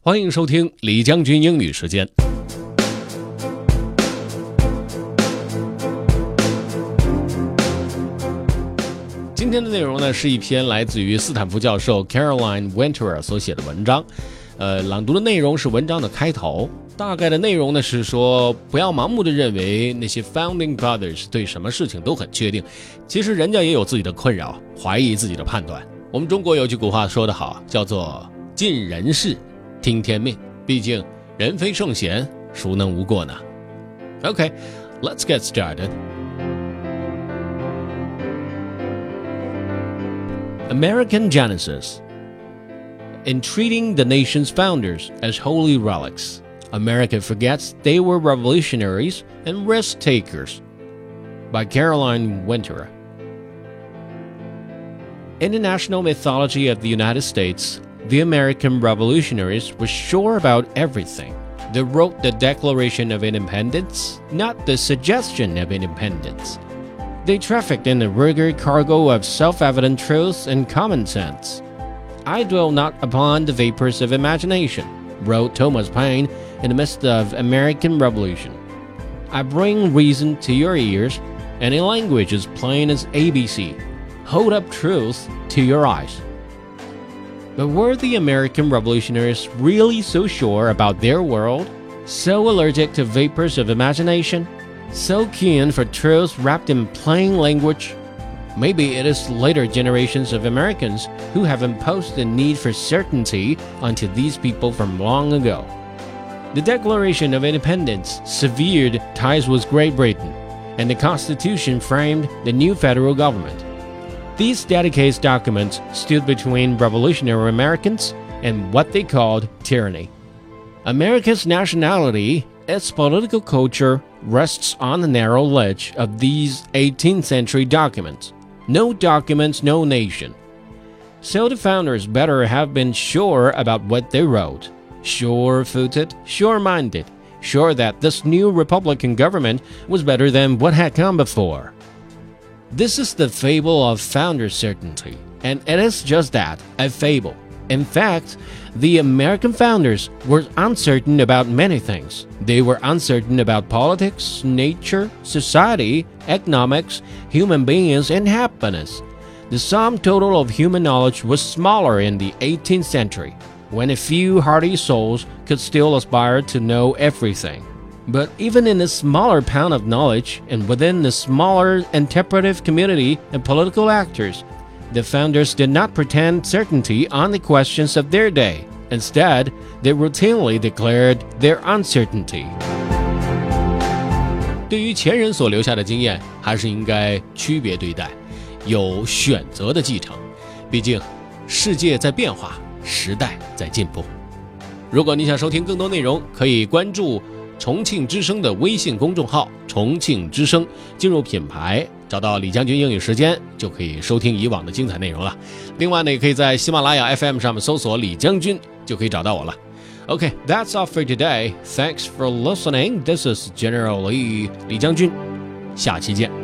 欢迎收听李将军英语时间。今天的内容呢，是一篇来自于斯坦福教授 Caroline Winterer 所写的文章。朗读的内容是文章的开头，大概的内容呢是说，不要盲目的认为那些 Founding Fathers 对什么事情都很确定，其实人家也有自己的困扰，怀疑自己的判断。我们中国有句古话说得好，叫做尽人事，听天命。毕竟人非圣贤，孰能无过呢？ Okay, let's get started. American Genesis. In treating the nation's founders as holy relics, America forgets they were revolutionaries and risk takers. By Caroline Winterer. In the national mythology of the United States, the American revolutionaries were sure about everything. They wrote the Declaration of Independence, not the suggestion of independence. They trafficked in a rugged cargo of self-evident truths and common sense. I dwell not upon the vapors of imagination, wrote Thomas Paine in the midst of American Revolution. I bring reason to your ears, and in language as plain as ABC, hold up truth to your eyes. But were the American revolutionaries really so sure about their world, so allergic to vapors of imagination, so keen for truths wrapped in plain language? Maybe it is later generations of Americans who have imposed the need for certainty onto these people from long ago. The Declaration of Independence severed ties with Great Britain, and the Constitution framed the new federal government. These dedicated documents stood between revolutionary Americans and what they called tyranny. America's nationality, its political culture, rests on the narrow ledge of these 18th century documents. No documents, no nation. So the founders better have been sure about what they wrote. Sure-footed, sure-minded, sure that this new Republican government was better than what had come before. This is the fable of founder certainty, and it is just that, a fable. In fact, the American founders were uncertain about many things. They were uncertain about politics, nature, society, economics, human beings, and happiness. The sum total of human knowledge was smaller in the 18th century, when a few hardy souls could still aspire to know everything. But even in a smaller pound of knowledge and within the smaller interpretive community and political actors, the founders did not pretend certainty on the questions of their day. Instead, they routinely declared their uncertainty. 对于前人所留下的经验，还是应该区别对待，有选择的继承。毕竟，世界在变化，时代在进步。如果你想收听更多内容，可以关注重庆之声的微信公众号重庆之声，进入品牌找到李将军英语时间，就可以收听以往的精彩内容了。另外呢，也可以在喜马拉雅 FM 上面搜索李将军，就可以找到我了。Okay, that's all for today. Thanks for listening. This is General Lee 李将军，下期见。